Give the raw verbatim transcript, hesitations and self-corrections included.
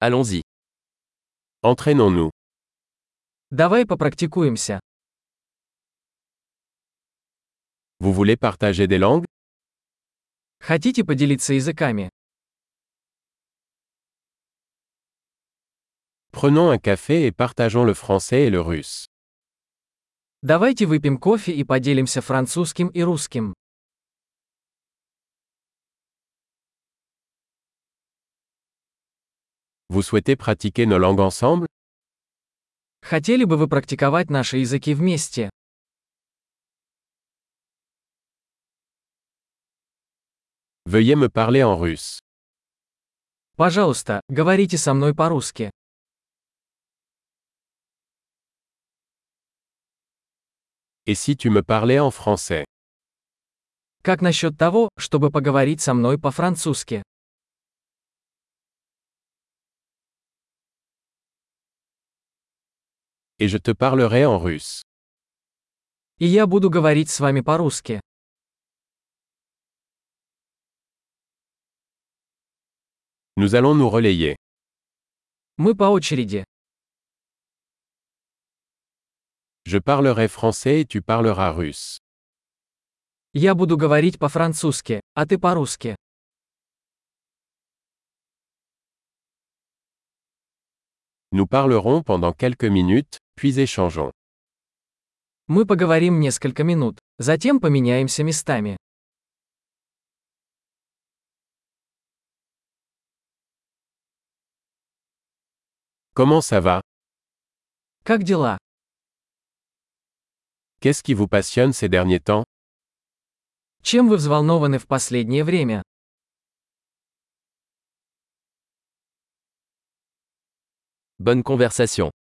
Allons-y. Entraînons-nous. Давай попрактикуемся. Vous voulez partager des langues? Хотите поделиться языками? Prenons un café et partageons le français et le russe. Давайте выпьем кофе и поделимся французским и русским. Vous souhaitez pratiquer nos langues ensemble? Хотели бы вы практиковать наши языки вместе? Veuillez me parler en russe. Пожалуйста, говорите со мной по-русски. Et si tu me parlais en français? Как насчет того, чтобы поговорить со мной по-французски? Et je te parlerai en russe. И я буду говорить с вами по-русски. Nous allons nous relayer. Мы по очереди. Je parlerai français et tu parleras russe. Я буду говорить по-французски, а ты по-русски. Nous parlerons pendant quelques minutes, puis échangeons. Мы поговорим несколько минут, затем поменяемся местами. Comment ça va? Как дела? Qu'est-ce qui vous passionne ces derniers temps? Чем вы взволнованы в последнее время? Bonne conversation.